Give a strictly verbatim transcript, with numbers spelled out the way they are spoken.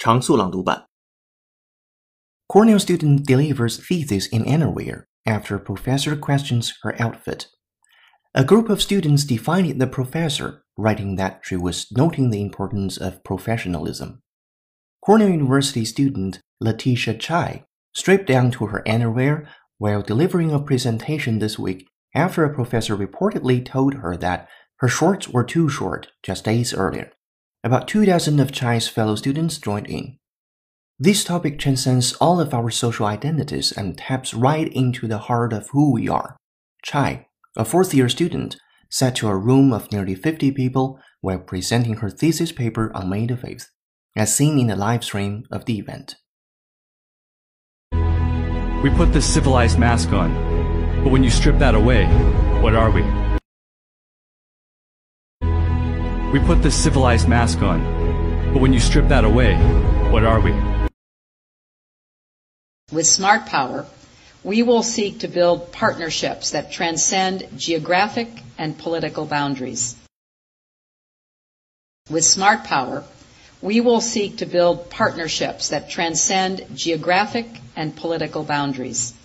常速朗读版 Cornell student delivers thesis in underwear after professor questions her outfit. A group of students defied the professor, writing that she was noting the importance of professionalism. Cornell University student Letitia Chai stripped down to her underwear while delivering a presentation this week after a professor reportedly told her that her shorts were too short just days earlier. About two dozen of Chai's fellow students joined in. This topic transcends all of our social identities and taps right into the heart of who we are. Chai, a fourth-year student, sat to a room of nearly fifty people while presenting her thesis paper on May the fifth, as seen in the live stream of the event. We put this civilized mask on, but when you strip that away, what are we? We put this civilized mask on, but when you strip that away, what are we? With Smart Power, we will seek to build partnerships that transcend geographic and political boundaries. With Smart Power, we will seek to build partnerships that transcend geographic and political boundaries.